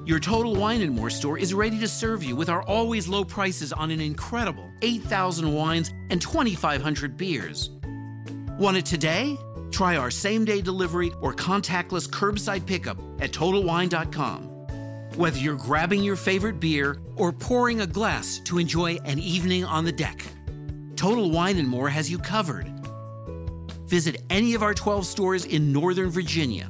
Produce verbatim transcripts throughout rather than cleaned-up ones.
Your Total Wine and More store is ready to serve you with our always low prices on an incredible eight thousand wines and twenty-five hundred beers. Want it today? Try our same-day delivery or contactless curbside pickup at total wine dot com. Whether you're grabbing your favorite beer or pouring a glass to enjoy an evening on the deck, Total Wine and More has you covered. Visit any of our twelve stores in Northern Virginia.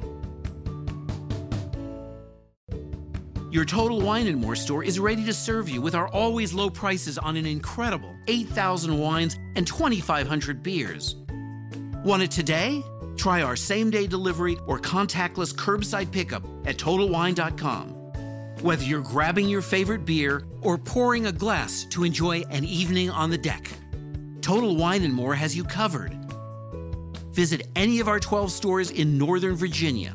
Your Total Wine and More store is ready to serve you with our always low prices on an incredible eight thousand wines and twenty-five hundred beers. Want it today? Try our same-day delivery or contactless curbside pickup at total wine dot com. Whether you're grabbing your favorite beer or pouring a glass to enjoy an evening on the deck, Total Wine and More has you covered. Visit any of our twelve stores in Northern Virginia.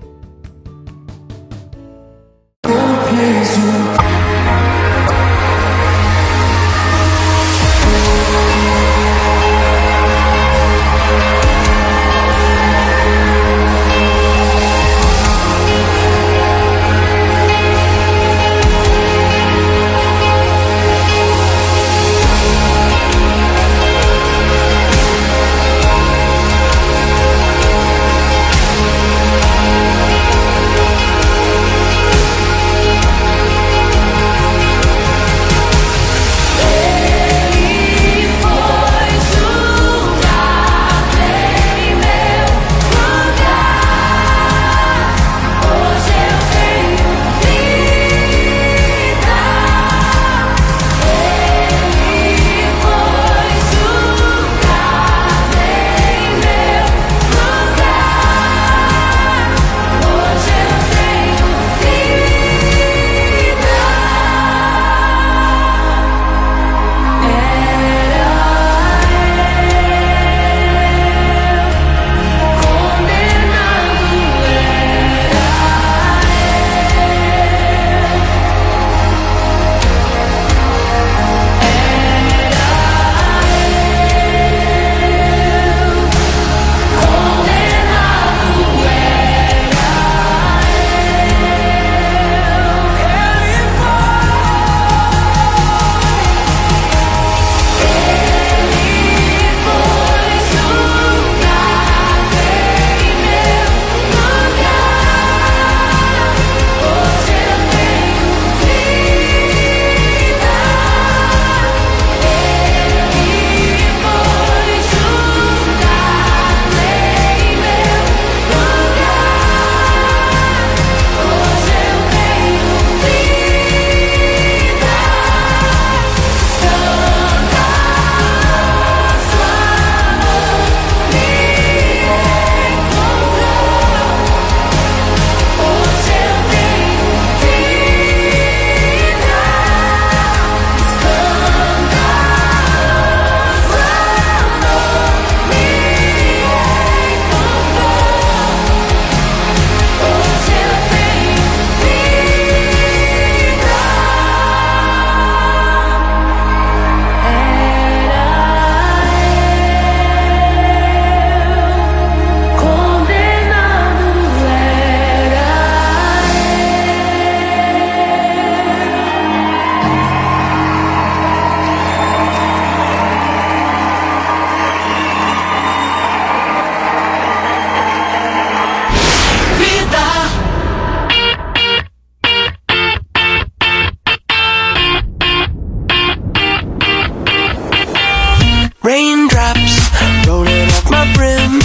Raindrops rolling off my brim.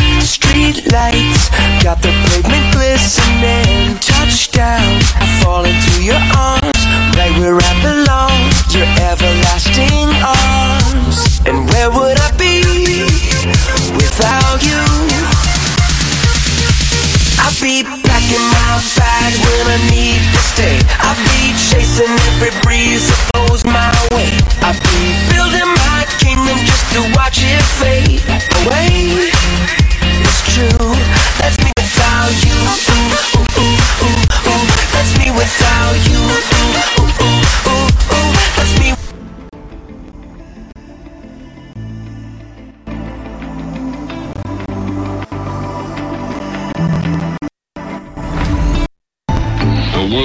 Street lights got the pavement glistening. Touchdown, I fall into your arms, right where I belong, your everlasting arms. And where would I be without you? I'll be packing my bag when I need to stay. I'll be chasing every breeze that blows my way. I'll be building my kingdom just to watch it fade away. It's true, that's me without you.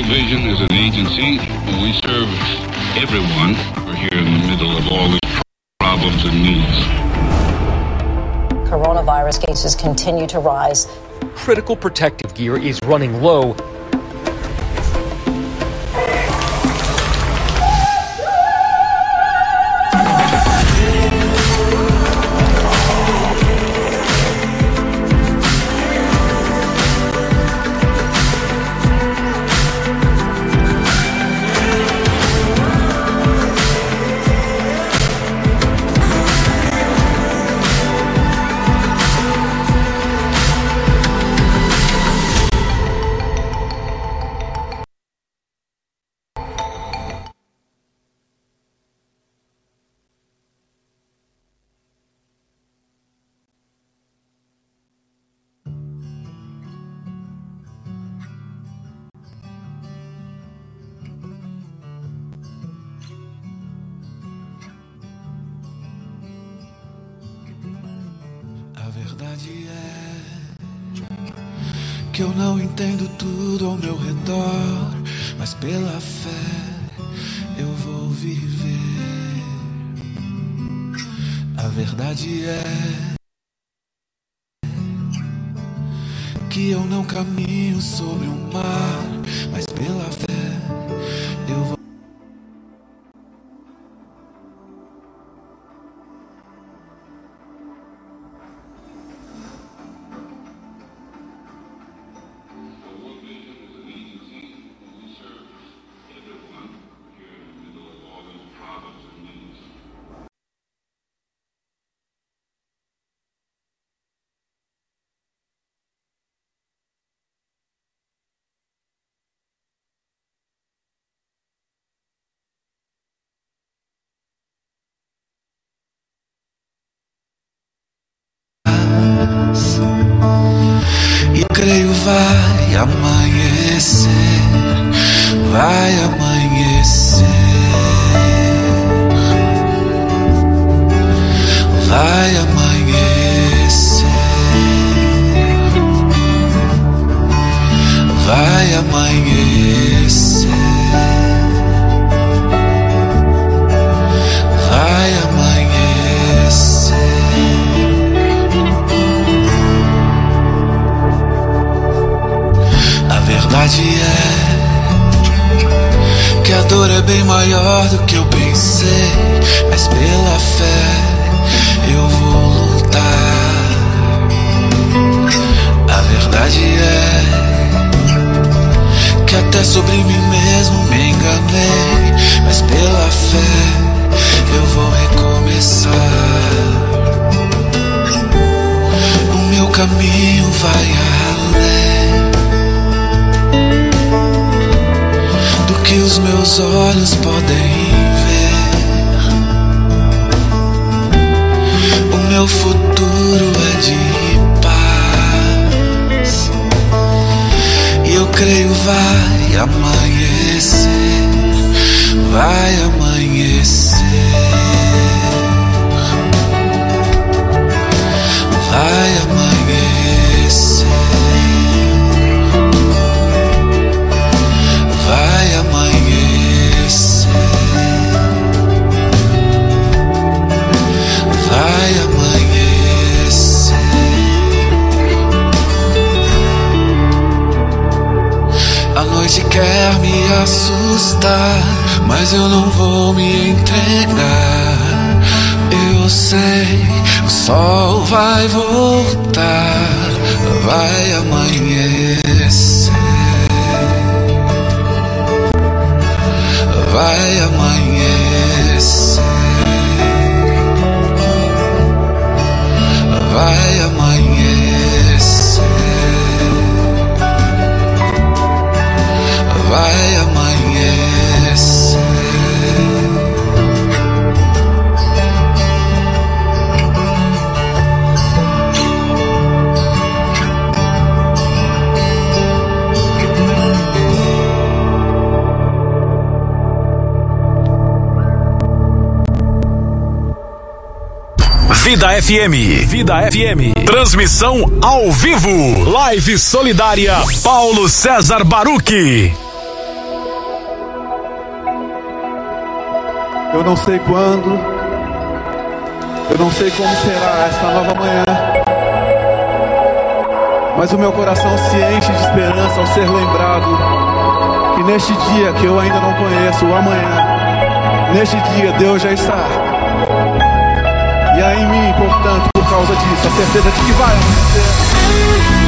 World Vision is an agency. We serve everyone. We're here in the middle of all these problems and needs. Coronavirus cases continue to rise. Critical protective gear is running low. Que eu não entendo tudo ao meu redor, mas pela fé eu vou viver. A verdade é que eu não caminho sobre o mar, mas pela fé eu vou. E creio vai amanhecer, vai amanhecer, vai amanhecer, vai amanhecer, vai amanhecer. A verdade é que a dor é bem maior do que eu pensei, mas pela fé eu vou lutar. A verdade é que até sobre mim mesmo me enganei, mas pela fé eu vou recomeçar. O meu caminho vai além do que os meus olhos podem ver. O meu futuro é de paz e eu creio vai amanhecer, vai amanhecer, vai amanhecer, vai amanhecer, vai amanhecer. A noite quer me assustar, mas eu não vou me entregar. Eu sei, o sol vai voltar, vai amanhecer, vai amanhecer, vai amanhecer, vai amanhecer. Vida F M. Vida F M. Transmissão ao vivo. Live solidária Paulo César Baruch. Eu não sei quando, eu não sei como será esta nova manhã, mas o meu coração se enche de esperança ao ser lembrado que neste dia que eu ainda não conheço, o amanhã, neste dia Deus já está. E há em mim, portanto, por causa disso, a certeza de que vai acontecer.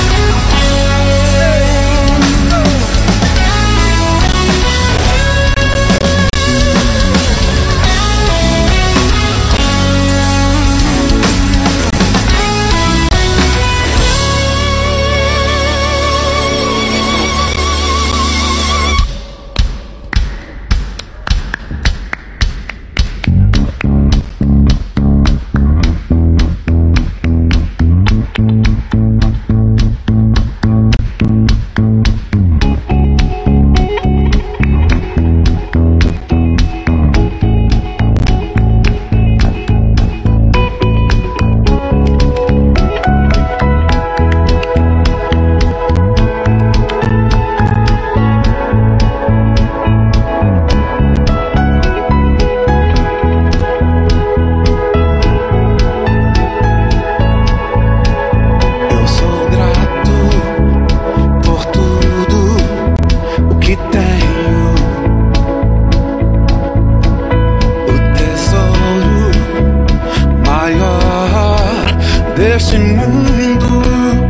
Deste mundo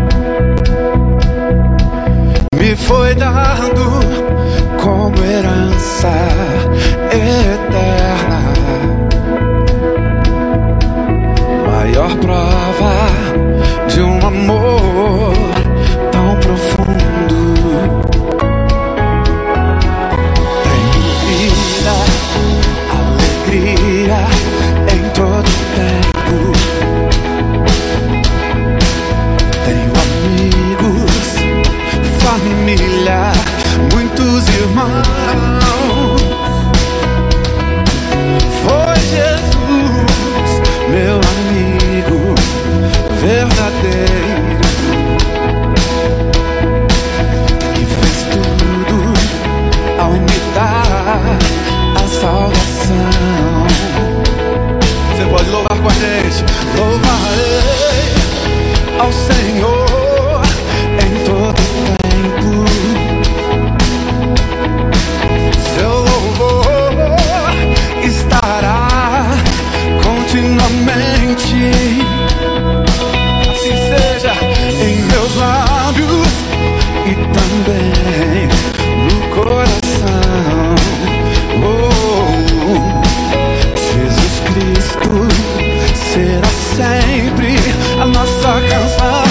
me foi dado como herança eterna, maior prova de um amor tão profundo. Tenho vida, alegria em todo tempo. Família, muitos irmãos. Foi Jesus, meu amigo verdadeiro, que fez tudo ao me dar a salvação. Você pode louvar com a gente. Louvarei ao Senhor em todo tempo. Seu louvor estará continuamente. Assim seja em meus lábios e também no coração. Oh, Jesus Cristo será sempre a nossa canção.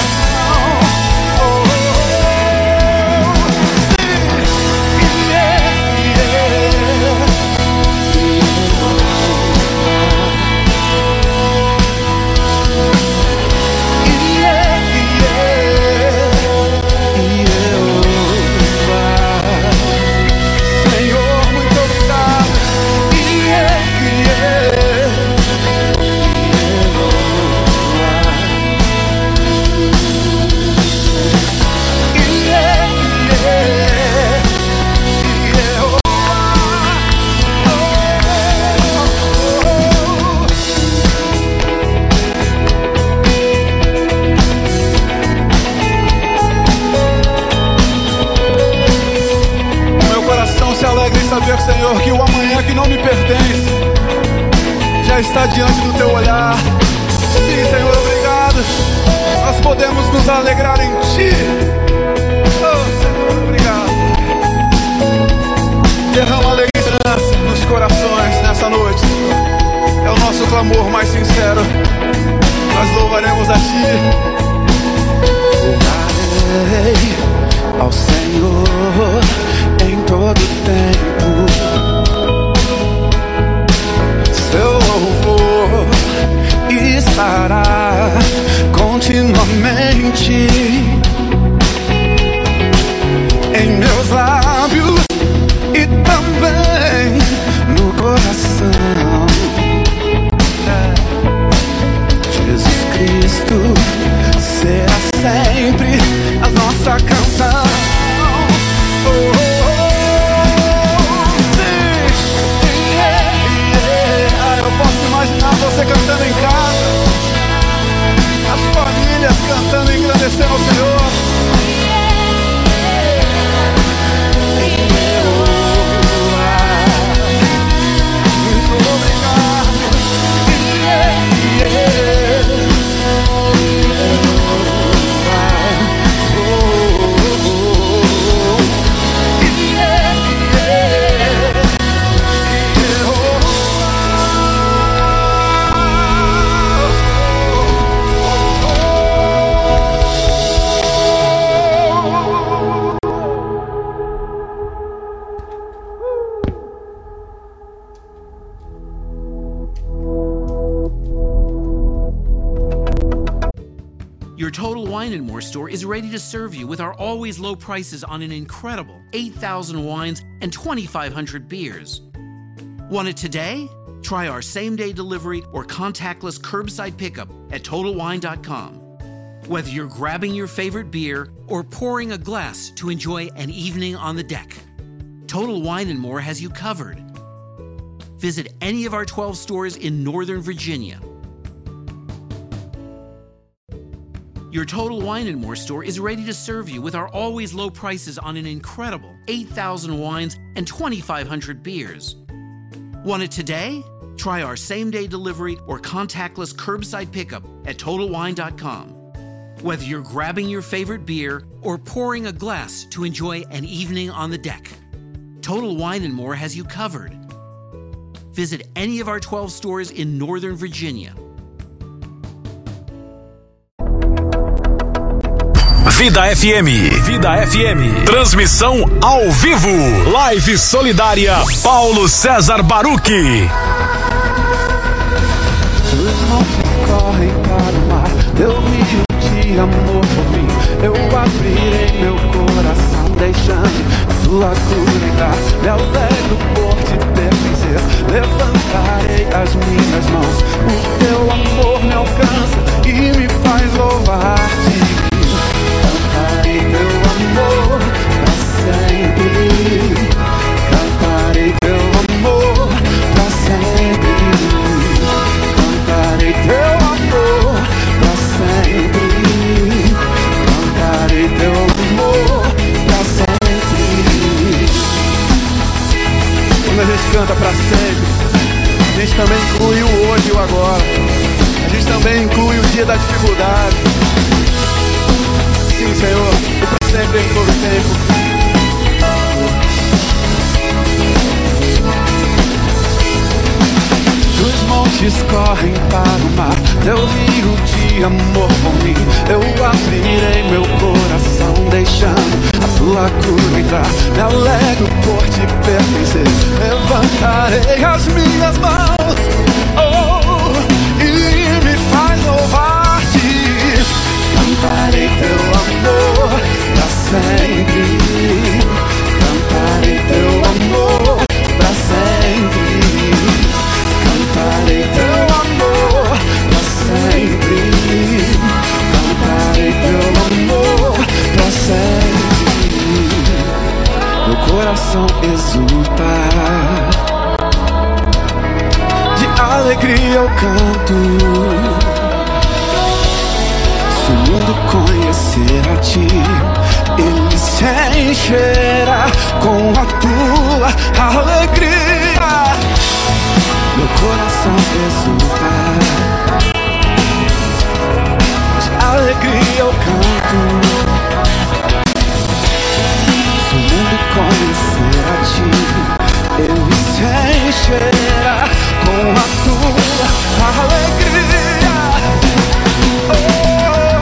Saber, Senhor, que o amanhã que não me pertence já está diante do Teu olhar. Sim, Senhor, obrigado. Nós podemos nos alegrar em Ti. Oh, Senhor, obrigado. Derrama alegria e esperança nos corações nessa noite, Senhor. É o nosso clamor mais sincero. Nós louvaremos a Ti. Louvarei ao Senhor em todo tempo. Seu louvor estará continuamente em meus lábios e também no coração. Jesus Cristo será sempre a nossa canção. Oh, Wine and More store is ready to serve you with our always low prices on an incredible eight thousand wines and twenty-five hundred beers. Want it today? Try our same-day delivery or contactless curbside pickup at Total Wine dot com. Whether you're grabbing your favorite beer or pouring a glass to enjoy an evening on the deck, Total Wine and More has you covered. Visit any of our twelve stores in Northern Virginia. Your Total Wine and More store is ready to serve you with our always low prices on an incredible eight thousand wines and twenty-five hundred beers. Want it today? Try our same-day delivery or contactless curbside pickup at Total Wine dot com. Whether you're grabbing your favorite beer or pouring a glass to enjoy an evening on the deck, Total Wine and More has you covered. Visit any of our twelve stores in Northern Virginia. Vida F M, Vida F M, transmissão ao vivo, live solidária, Paulo César Baruch. Os montes correm para o mar, teu rio de amor por mim. Eu abrirei meu coração, deixando a tua cura entrar. Me alegro por te pertencer, levantarei as minhas mãos. O teu amor me alcança e me faz louvar-te. Cantarei teu amor pra sempre. Cantarei teu amor pra sempre. Cantarei teu amor pra sempre. Cantarei teu amor pra sempre. Quando a gente canta pra sempre, a gente também inclui o hoje e o agora. A gente também inclui o dia da dificuldade. Sim, Senhor, e pra sempre em todo tempo. Os montes correm para o mar, teu rio de amor por mim. Eu abrirei meu coração, deixando a tua cura entrar. Me alegro por te pertencer, levantarei as minhas mãos, oh, e me faz louvar-te. Cantarei teu amor pra sempre. Cantarei teu amor pra sempre. Cantarei teu amor pra sempre. Cantarei teu amor pra sempre. Meu coração exulta, de alegria eu canto. Se o mundo conhecer a ti, ele se encherá com a tua alegria. Meu coração exulta, de alegria eu canto. Se o mundo conhecer a ti, ele se encherá com a tua alegria. Oh,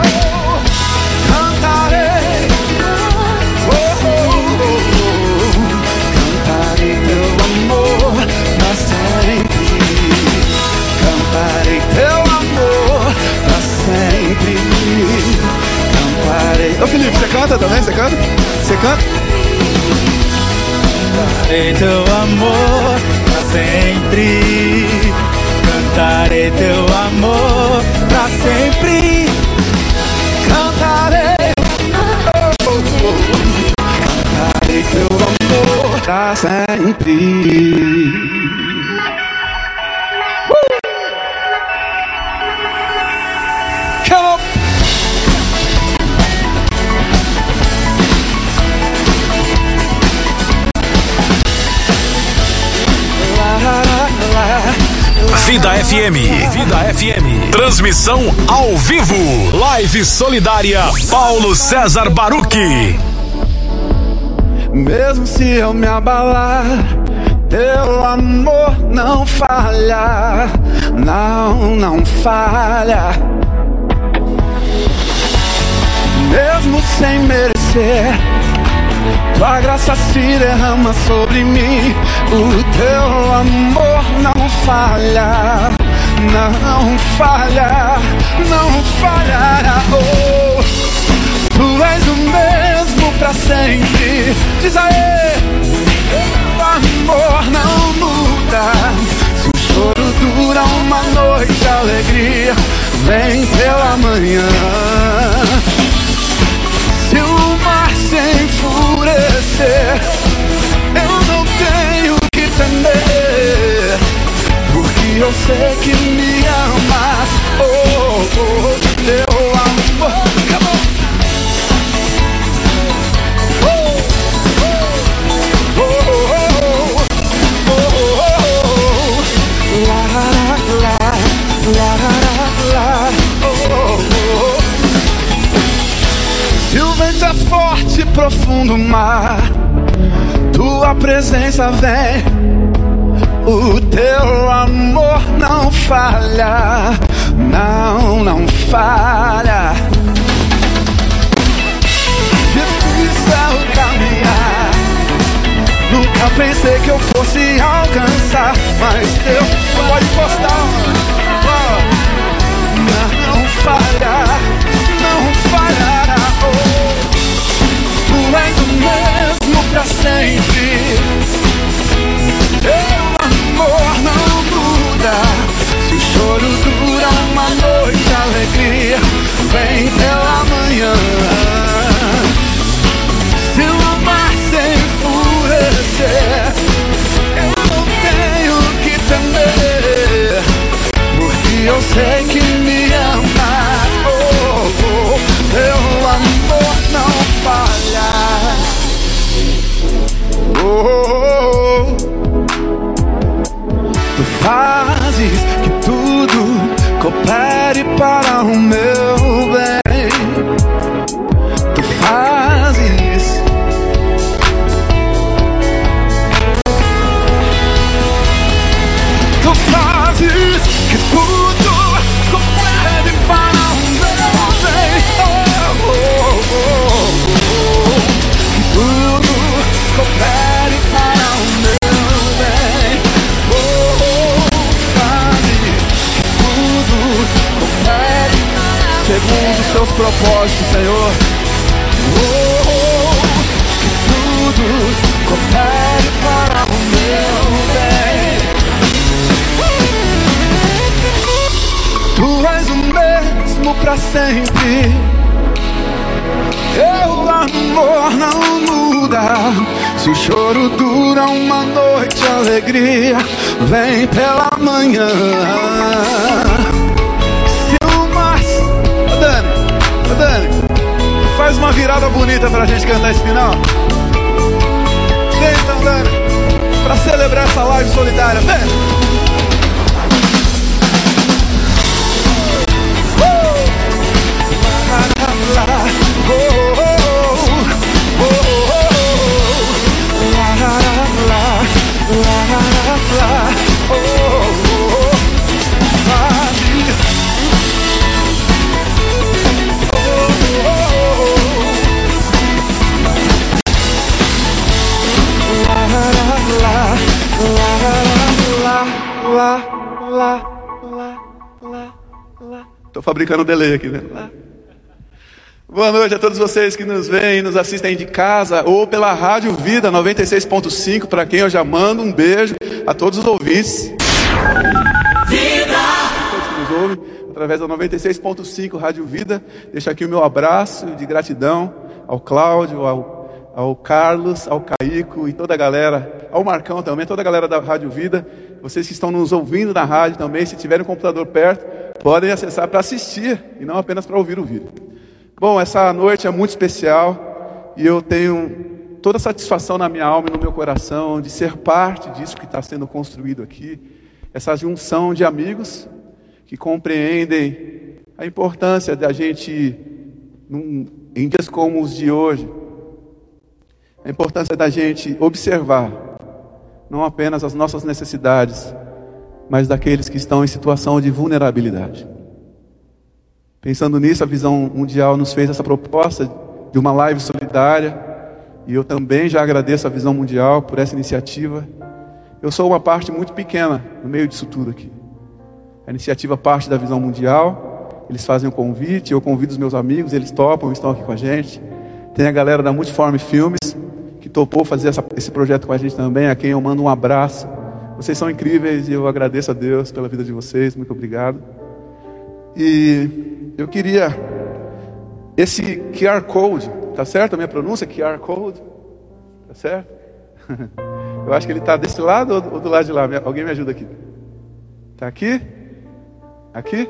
cantarei, oh, oh, oh, cantarei teu amor pra sempre. Cantarei teu amor pra sempre. Cantarei. Ô Felipe, você canta também? Você canta? Você canta? Cantarei teu amor pra sempre. Cantarei teu amor pra sempre. Cantarei, oh, oh, oh. Cantarei teu amor pra sempre. Come on. Vida F M, Vida F M, transmissão ao vivo, live solidária, Paulo César Baruch. Mesmo se eu me abalar, teu amor não falha, não, não falha. Mesmo sem merecer, tua graça se derrama sobre mim. O teu amor não falha, não falha, não falha. Oh. Tu és o mesmo pra sempre. Diz aí, o amor não muda. Se o choro dura uma noite, a alegria vem pela manhã. Se o mar se enfurecer, eu não tenho que temer, porque eu sei que me amas. Oh, oh, teu amor. Come on. Oh, oh, oh, oh, oh. La, la, la, la, la, oh, oh. Se o vento é forte, profundo mar, tua presença vem. O teu amor não falha, não, não falha. Difícil caminhar, nunca pensei que eu fosse alcançar, mas Deus pode postar. Não falha, não falhará. Oh, tu és o mesmo pra sempre. Teu amor não muda. Se o choro dura uma noite, a alegria vem pela manhã. Se o mar se enfurecer, eu não tenho que temer, porque eu sei que me amas. Oh, oh, teu amor não falha. Oh, oh, oh. Tu fazes que tudo coopere para o meu bem. Tu fazes. Tu fazes que tudo coopere para o meu bem. Oh, oh, oh, oh. Que tudo coopere para o meu bem. Oh, oh, fazes que tudo coopere segundo os seus propósitos, Senhor. Oh, oh, que tudo coopere para o meu bem. Tu és o mesmo pra sempre. Teu amor não muda. Se o choro dura uma noite, a alegria vem pela manhã. Se o mar... Ô Dani, ô Dani, faz uma virada bonita pra gente cantar esse final. Vem então, Dani, pra celebrar essa live solidária. Vem! Tô fabricando um delay aqui, né? Boa noite a todos vocês que nos veem e nos assistem de casa ou pela Rádio Vida noventa e seis ponto cinco, para quem eu já mando um beijo a todos os ouvintes. Vida! Todos que nos ouvem através da noventa e seis ponto cinco Rádio Vida. Deixo aqui o meu abraço de gratidão ao Cláudio, ao, ao Carlos, ao Caico e toda a galera, ao Marcão também, toda a galera da Rádio Vida. Vocês que estão nos ouvindo na rádio também, se tiverem um computador perto, podem acessar para assistir e não apenas para ouvir o vídeo. Bom, essa noite é muito especial e eu tenho toda a satisfação na minha alma e no meu coração de ser parte disso que está sendo construído aqui. Essa junção de amigos que compreendem a importância da gente, num, em dias como os de hoje, a importância da gente observar não apenas as nossas necessidades, mas daqueles que estão em situação de vulnerabilidade. Pensando nisso, a Visão Mundial nos fez essa proposta de uma live solidária, e eu também já agradeço a Visão Mundial por essa iniciativa. Eu sou uma parte muito pequena no meio disso tudo aqui. A iniciativa parte da Visão Mundial, eles fazem o convite, eu convido os meus amigos, eles topam, estão aqui com a gente. Tem a galera da Multiforme Filmes, que topou fazer essa, esse projeto com a gente também, a quem eu mando um abraço. Vocês são incríveis e eu agradeço a Deus pela vida de vocês, muito obrigado. E eu queria, esse Q R Code, tá certo a minha pronúncia? Q R Code, tá certo? Eu acho que ele está desse lado ou do lado de lá? Alguém me ajuda aqui. Está aqui? Aqui?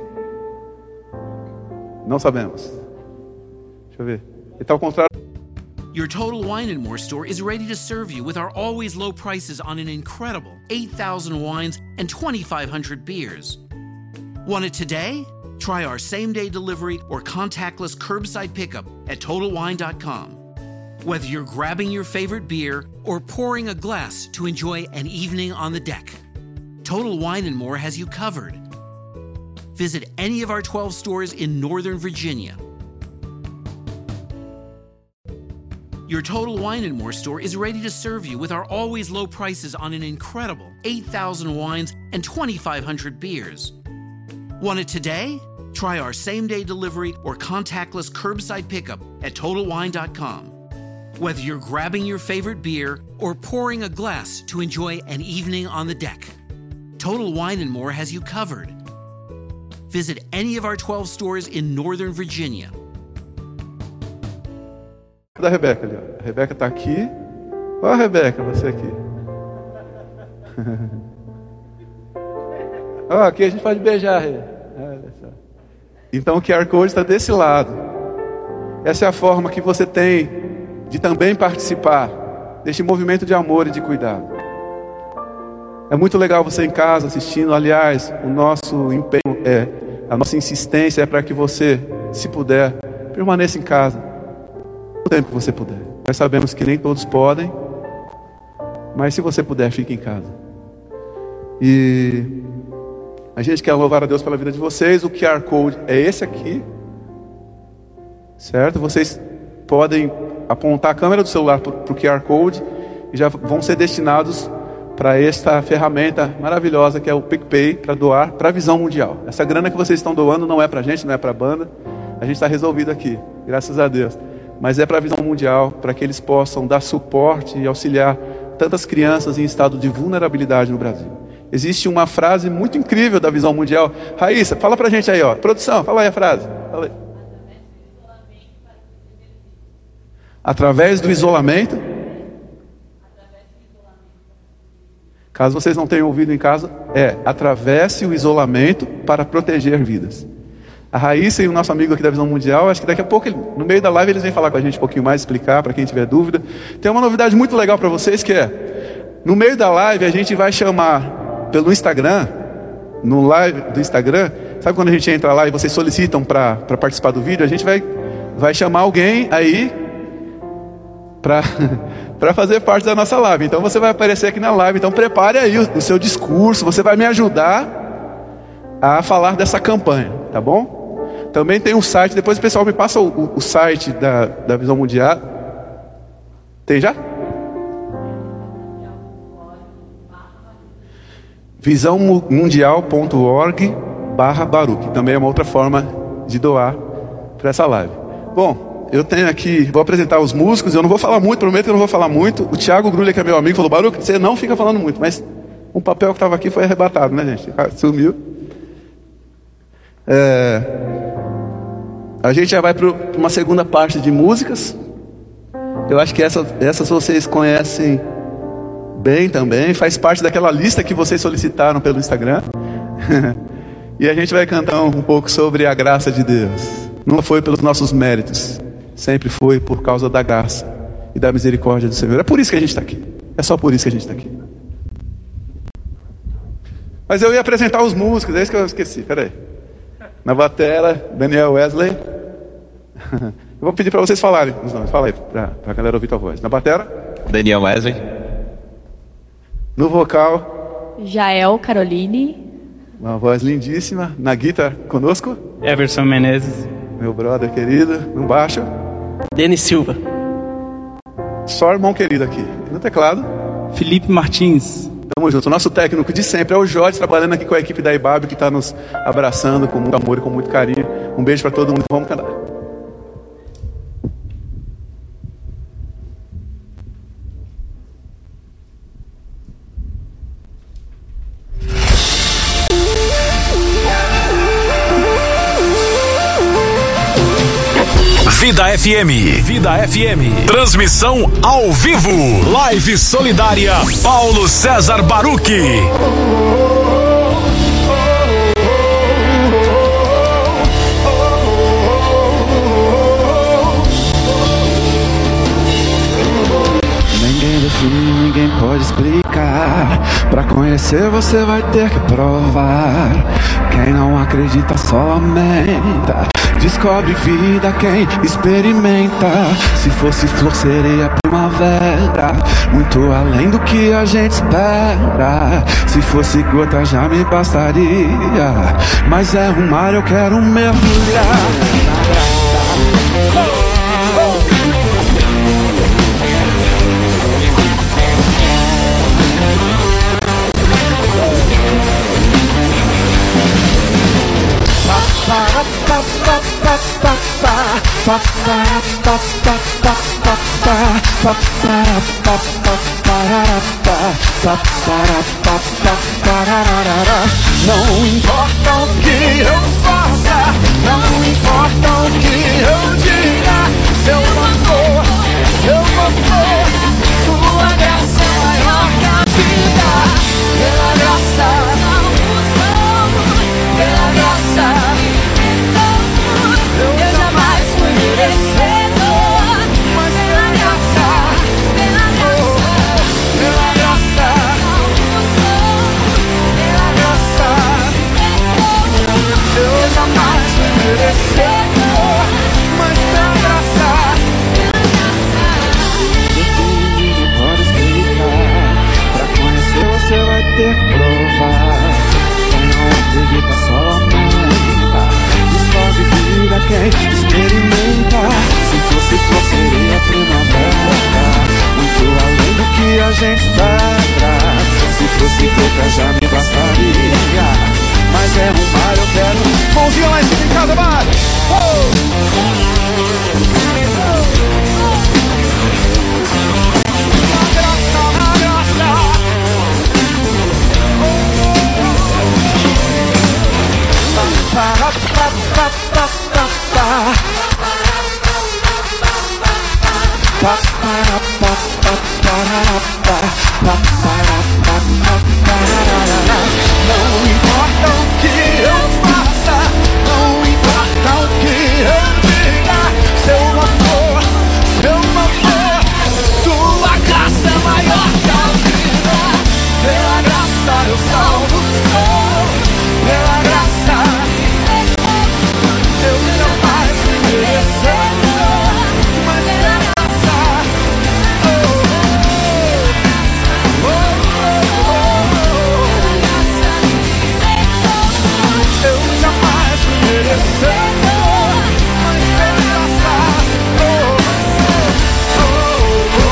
Não sabemos. Deixa eu ver. Ele está ao contrário. Your Total Wine and More store is ready to serve you with our always low prices on an incredible eight thousand wines and twenty-five hundred beers. Want it today? Try our same-day delivery or contactless curbside pickup at total wine dot com. Whether you're grabbing your favorite beer or pouring a glass to enjoy an evening on the deck, Total Wine and More has you covered. Visit any of our twelve stores in Northern Virginia. Your Total Wine and More store is ready to serve you with our always low prices on an incredible eight thousand wines and twenty-five hundred beers. Want it today? Try our same-day delivery or contactless curbside pickup at total wine dot com. Whether you're grabbing your favorite beer or pouring a glass to enjoy an evening on the deck, Total Wine and More has you covered. Visit any of our twelve stores in Northern Virginia. Da Rebeca ali, ó. A Rebeca está aqui. Ó, Rebeca, você aqui. Ó, aqui a gente pode beijar, Rê. Olha só. Então o Q R Code está desse lado. Essa é a forma que você tem de também participar deste movimento de amor e de cuidado. É muito legal você em casa assistindo. Aliás, o nosso empenho é, a nossa insistência é para que você, se puder, permaneça em casa o tempo que você puder. Nós sabemos que nem todos podem, mas se você puder, fique em casa. E a gente quer louvar a Deus pela vida de vocês. O Q R Code é esse aqui, certo? Vocês podem apontar a câmera do celular para o Q R Code e já vão ser destinados para esta ferramenta maravilhosa que é o PicPay, para doar para a Visão Mundial. Essa grana que vocês estão doando não é para a gente, não é para a banda. A gente está resolvido aqui, graças a Deus. Mas é para a Visão Mundial, para que eles possam dar suporte e auxiliar tantas crianças em estado de vulnerabilidade no Brasil. Existe uma frase muito incrível da Visão Mundial. Raíssa, fala para a gente aí, ó. Produção, fala aí a frase. Fala aí. Através do isolamento. Caso vocês não tenham ouvido em casa, é atravesse o isolamento para proteger vidas. A Raíssa e o nosso amigo aqui da Visão Mundial, acho que daqui a pouco, no meio da live, eles vêm falar com a gente um pouquinho mais, explicar para quem tiver dúvida. Tem uma novidade muito legal para vocês, que é, no meio da live, a gente vai chamar pelo Instagram, no live do Instagram, sabe quando a gente entra lá e vocês solicitam para participar do vídeo, a gente vai, vai chamar alguém aí para para fazer parte da nossa live. Então você vai aparecer aqui na live, então prepare aí o, o seu discurso, você vai me ajudar a falar dessa campanha, tá bom? Também tem um site, depois o pessoal me passa o, o, o site da, da Visão Mundial. Tem já? visão mundial ponto org barra Baruch. Também é uma outra forma de doar para essa live. Bom, eu tenho aqui, vou apresentar os músicos. Eu não vou falar muito, prometo que eu não vou falar muito. O Thiago Grulha, que é meu amigo, falou: Baruch, você não fica falando muito. Mas um papel que estava aqui foi arrebatado, né, gente? Sumiu. É... A gente já vai para uma segunda parte de músicas. Eu acho que essa, essas vocês conhecem bem também. Faz parte daquela lista que vocês solicitaram pelo Instagram. E a gente vai cantar um pouco sobre a graça de Deus. Não foi pelos nossos méritos, sempre foi por causa da graça e da misericórdia do Senhor. É por isso que a gente está aqui. É só por isso que a gente está aqui. Mas eu ia apresentar os músicos, é isso que eu esqueci. Peraí. Na batera, Daniel Wesley. Eu vou pedir para vocês falarem os nomes. Fala aí, para a galera ouvir tua voz. Na batera, Daniel Wesley. No vocal, Jael Caroline. Uma voz lindíssima. Na guitarra, conosco, Everson Menezes. Meu brother querido. No baixo, Denis Silva. Só irmão querido aqui. No teclado, Felipe Martins. Tamo junto. O nosso técnico de sempre é o Jorge, trabalhando aqui com a equipe da I B A B, que está nos abraçando com muito amor e com muito carinho. Um beijo para todo mundo. Vamos cantar. Vida F M. Vida F M. Transmissão ao vivo. Live solidária Paulo César Baruch. Ninguém define, ninguém pode explicar. Pra conhecer você vai ter que provar. Quem não acredita só lamenta. Descobre vida quem experimenta. Se fosse flor seria primavera, muito além do que a gente espera. Se fosse gota já me bastaria, mas é um mar, eu quero mergulhar na graça. Não importa o que eu faça, não importa o que eu diga, se eu não for, eu vou for. Tua graça é maior que a vida. Pela graça, pela graça, eu jamais fui merecedor, mas pela graça, pela graça, pela graça, pela graça, eu jamais fui merecedor, mas pela graça, ninguém pode explicar. Pra conhecer você vai ter que provar. Quem não acredita só lamenta. Descobre vida quem experimenta. Se fosse flor seria primavera, muito além do que a gente espera. Se fosse gota já me bastaria, mas é um mar, eu quero. Mãozinha lá em cima em casa, vai! Não importa o que eu faça, não importa o que eu diga, se eu não for, eu não for. Tua graça é maior que a vida. Pela graça eu salvo sou. Pela graça eu jamais fui merecedor, mas pela graça, oh, oh, oh, oh, eu jamais fui merecedor, mas pela graça, oh, oh, oh,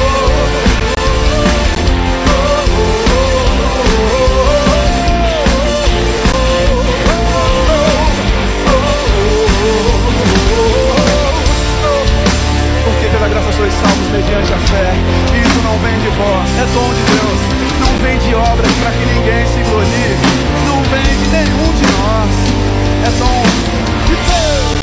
porque pela graça sois salvos mediante a fé. Isso não vem de vós, é dom de Deus. Não vem de obras para que ninguém se glorie. Não vem de nenhum de nós. É dom de Deus.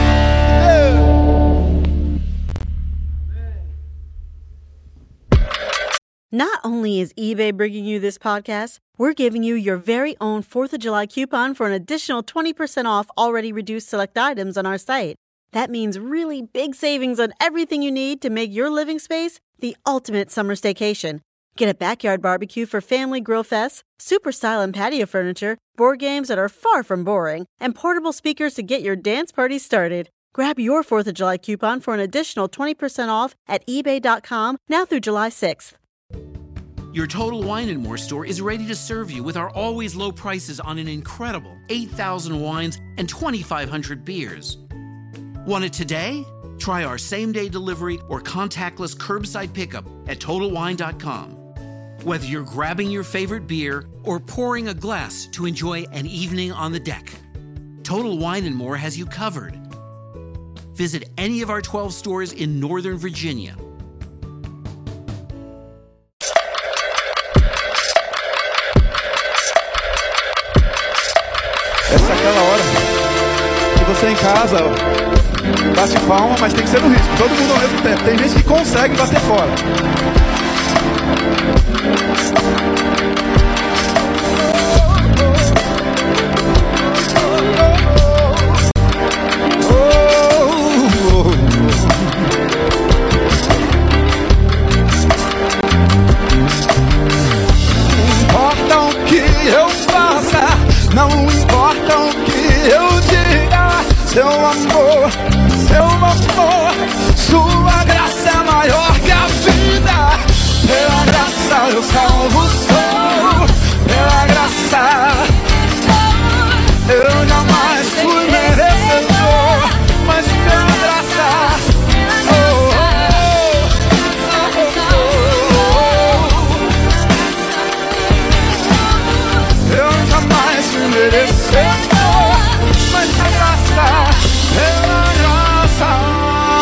Not only is eBay bringing you this podcast, we're giving you your very own fourth of July coupon for an additional twenty percent off already reduced select items on our site. That means really big savings on everything you need to make your living space the ultimate summer staycation. Get a backyard barbecue for family grill fests, super style and patio furniture, board games that are far from boring, and portable speakers to get your dance party started. Grab your fourth of July coupon for an additional twenty percent off at ebay dot com now through July sixth. Your Total Wine and More store is ready to serve you with our always low prices on an incredible eight thousand wines and twenty-five hundred beers. Want it today? Try our same-day delivery or contactless curbside pickup at total wine dot com. Whether you're grabbing your favorite beer or pouring a glass to enjoy an evening on the deck, Total Wine and More has you covered. Visit any of our twelve stores in Northern Virginia. Essa é aquela hora que você em casa bate palma, mas tem que ser no ritmo. Todo mundo ao mesmo tempo. Tem gente que consegue bater fora. Não importa o que eu diga, seu amor, seu amor, sua graça é maior que a vida. Pela graça eu salvo sou, pela graça eu jamais fui merecedor, mas pela graça oh, oh, oh, oh. Eu jamais fui merecedor, mas a graça, pela graça.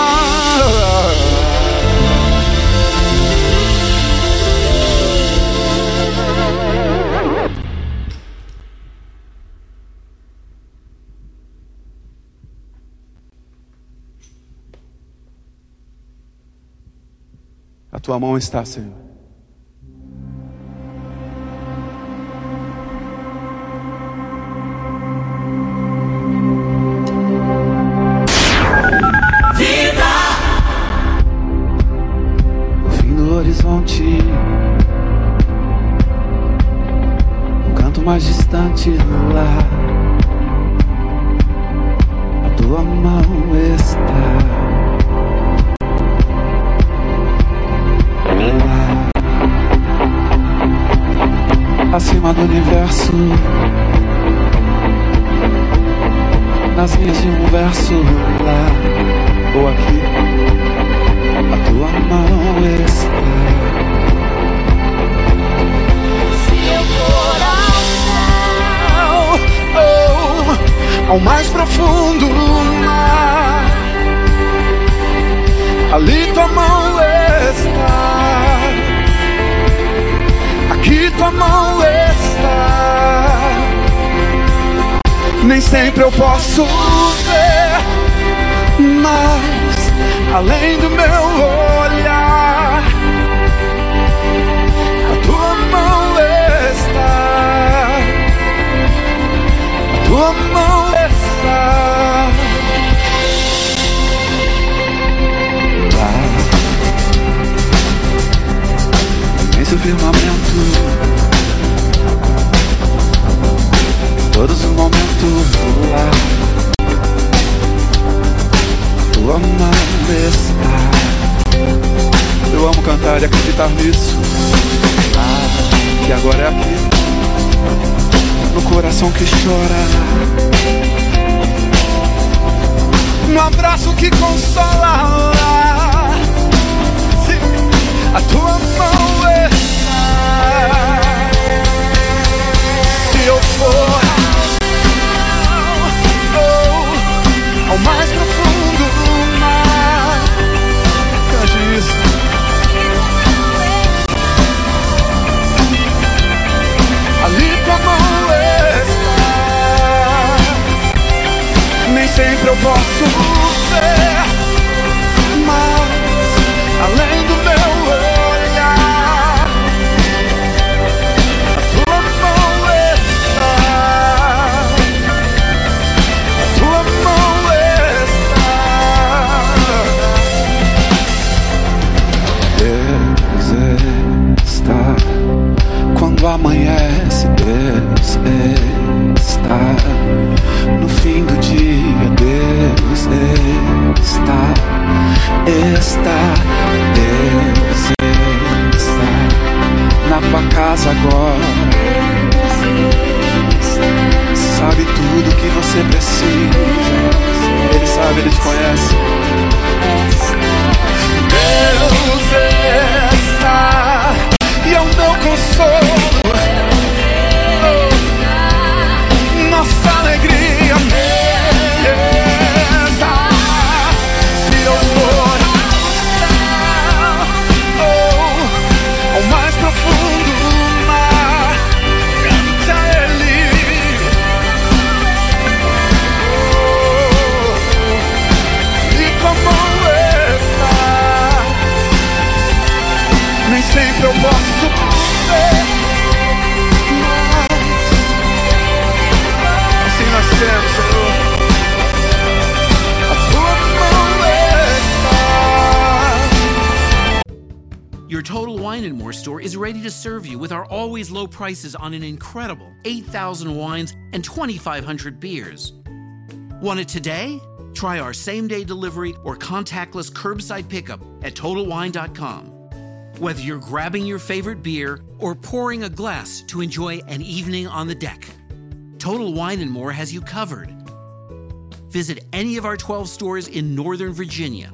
A tua mão está, Senhor. Vida! No fim do horizonte, um canto mais distante no lar, a tua mão está. Acima do universo, nas linhas de um verso lá ou aqui, a tua mão está. Se eu for ao céu, oh, ao mais profundo mar, ali tua mão está. Aqui tua mão está. Nem sempre eu posso ver, mas além do meu olhar, a tua mão está. A tua mão está. Imenso firmamento, todos os momentos lá, tua mão está. Eu amo cantar e acreditar nisso. Ah, que agora é aqui, no coração que chora, no abraço que consola. A tua mão está. Se eu for ao, ao mais profundo do mar, cante isso. Ali tua mão está. Nem sempre eu posso ver, mas além do meu olhar, a tua mão está. A tua mão Deus está. Quando amanhece, Deus está. No fim do dia, Deus está. Está, Deus está na tua casa agora. Sabe tudo que você precisa. Ele sabe, Ele te conhece. Deus está e é o meu consolo, nossa alegria. and More store is ready to serve you with our always low prices on an incredible eight thousand wines and twenty-five hundred beers. Want it today? Try our same-day delivery or contactless curbside pickup at Total Wine dot com. Whether you're grabbing your favorite beer or pouring a glass to enjoy an evening on the deck, Total Wine and More has you covered. Visit any of our twelve stores in Northern Virginia.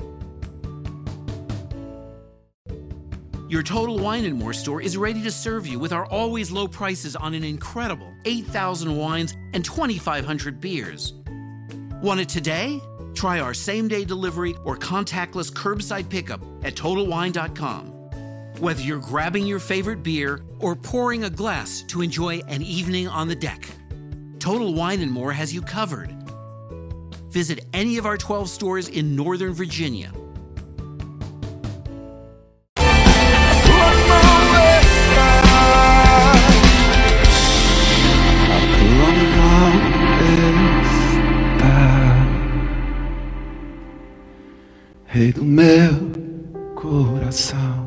Your Total Wine and More store is ready to serve you with our always low prices on an incredible eight thousand wines and twenty-five hundred beers. Want it today? Try our same-day delivery or contactless curbside pickup at Total Wine dot com. Whether you're grabbing your favorite beer or pouring a glass to enjoy an evening on the deck, Total Wine and More has you covered. Visit any of our twelve stores in Northern Virginia. Rei do meu coração,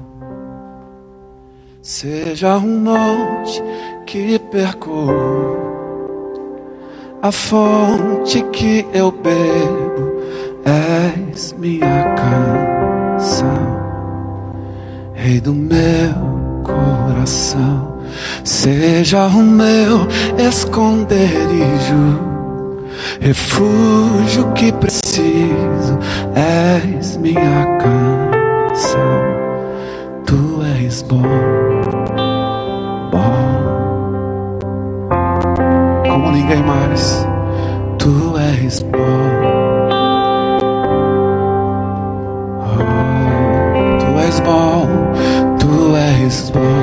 seja um monte que percorro, a fonte que eu bebo, és minha canção. Rei do meu coração, seja o meu esconderijo, refúgio que preciso, és minha canção. Tu és bom, bom, como ninguém mais. Tu és bom, oh, tu és bom, tu és bom,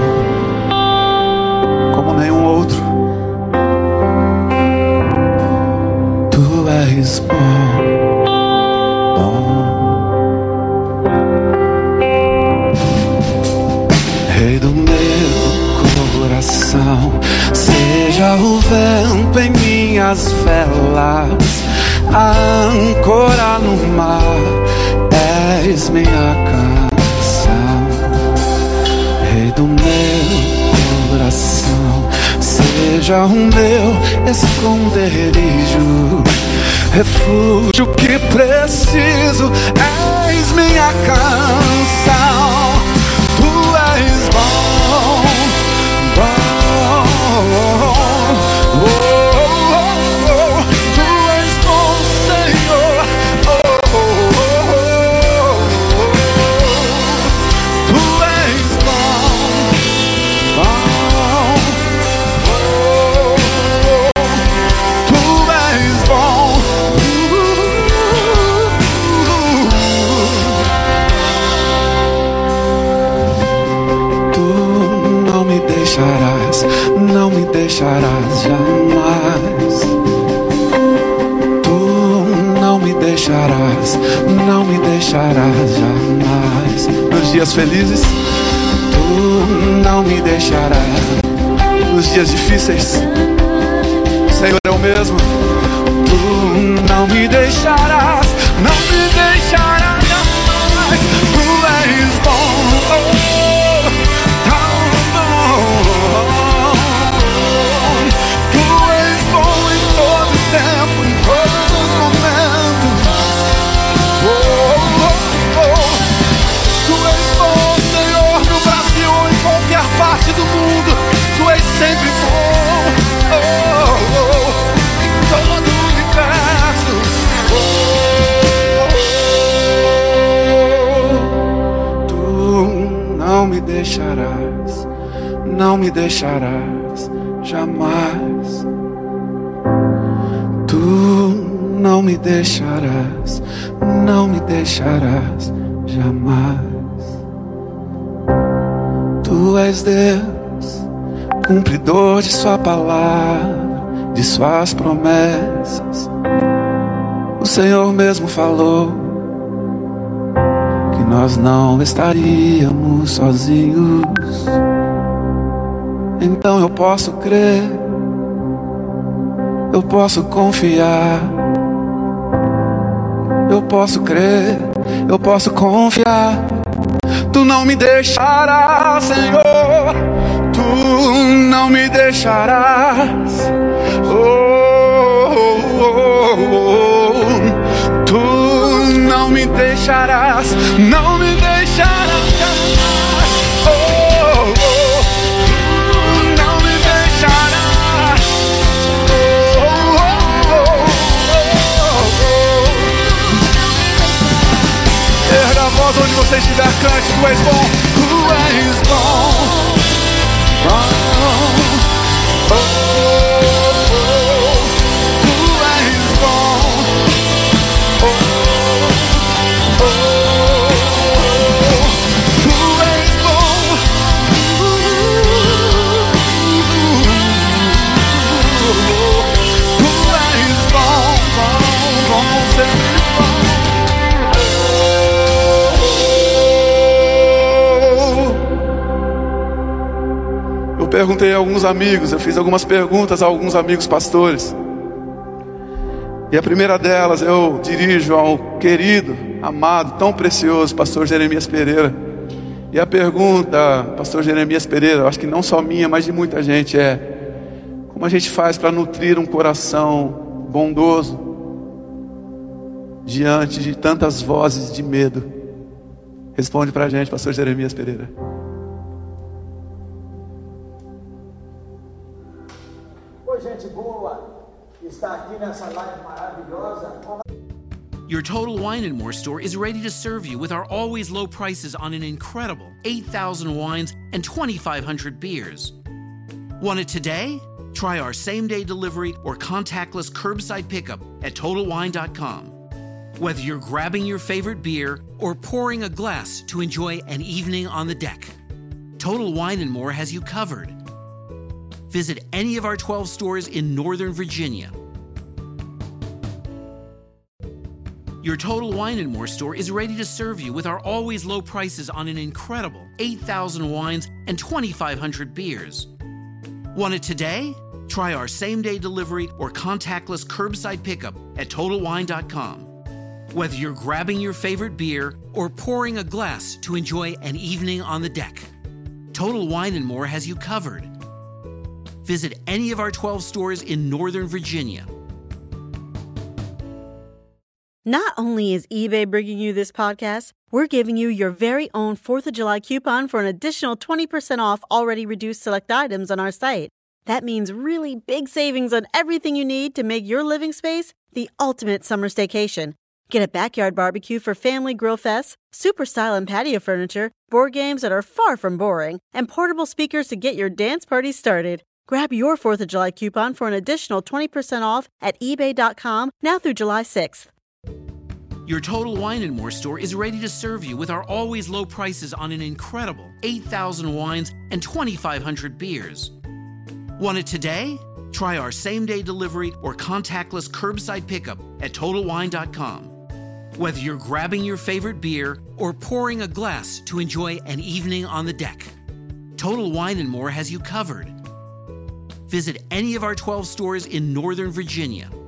como nenhum outro. Tu és bom, bom. Rei do meu coração, seja o vento em minhas velas, a âncora no mar, és minha canção. Rei do meu coração, seja o meu esconderijo, refúgio que preciso, és minha canção. Tu és bom, bom, oh, oh, oh. Tu és bom, Senhor, oh, oh, oh, oh. Tu és bom, bom, oh, oh. Tu és bom, tu não me deixarás, não me deixarás jamais. Tu não me deixarás, não me deixarás jamais. Nos dias felizes, tu não me deixarás. Nos dias difíceis, Senhor é o mesmo. Tu não me deixarás, não me deixarás jamais. Tu és bom, oh, tão bom. Tu és bom em todo tempo, em todos os momentos. Oh, oh, oh. Tu és bom, Senhor, no Brasil ou em qualquer parte do mundo. Tu és sempre bom, oh, oh, em todo o universo. Oh, oh, oh. Tu não me deixarás, não me deixarás jamais. Tu não me deixarás, não me deixarás jamais. Tu és Deus, cumpridor de sua palavra, de suas promessas. O Senhor mesmo falou que nós não estaríamos sozinhos. Então eu posso crer, eu posso confiar, eu posso crer, eu posso confiar. Tu não me deixarás, Senhor, Tu não me deixarás. Oh, oh, oh, oh. Tu não me deixarás, não me deixarás jamais. Oh, oh, oh. Tu não me deixarás. Oh, oh, oh, oh, oh. Erga a voz onde você estiver, cante. Tu és bom, Tu és bom. Oh, oh, oh, Tu és bom. Oh, oh, oh, Tu és bom. Tu és bom, bom, bom, sempre bom. Eu perguntei a alguns amigos, eu fiz algumas perguntas a alguns amigos pastores. E a primeira delas eu dirijo ao querido, amado, tão precioso pastor Jeremias Pereira. E a pergunta, pastor Jeremias Pereira, eu acho que não só minha, mas de muita gente, é: como a gente faz para nutrir um coração bondoso diante de tantas vozes de medo? Responde pra gente, pastor Jeremias Pereira. Oi, gente boa, está aqui nessa live maravilhosa. Your Total Wine and More store is ready to serve you with our always low prices on an incredible eight thousand wines and twenty-five hundred beers. Want it today? Try our same-day delivery or contactless curbside pickup at total wine dot com. Whether you're grabbing your favorite beer or pouring a glass to enjoy an evening on the deck, Total Wine and More has you covered. Visit any of our twelve stores in Northern Virginia. Your Total Wine and More store is ready to serve you with our always low prices on an incredible eight thousand wines and twenty-five hundred beers. Want it today? Try our same-day delivery or contactless curbside pickup at total wine dot com. Whether you're grabbing your favorite beer or pouring a glass to enjoy an evening on the deck, Total Wine and More has you covered. Visit any of our twelve stores in Northern Virginia. Not only is eBay bringing you this podcast, we're giving you your very own fourth of July coupon for an additional twenty percent off already reduced select items on our site. That means really big savings on everything you need to make your living space the ultimate summer staycation. Get a backyard barbecue for family grill fests, super style and patio furniture, board games that are far from boring, and portable speakers to get your dance party started. Grab your fourth of July coupon for an additional twenty percent off at ebay dot com now through July sixth. Your Total Wine and More store is ready to serve you with our always low prices on an incredible eight thousand wines and twenty-five hundred beers. Want it today? Try our same-day delivery or contactless curbside pickup at total wine dot com. Whether you're grabbing your favorite beer or pouring a glass to enjoy an evening on the deck, Total Wine and More has you covered. Visit any of our twelve stores in Northern Virginia.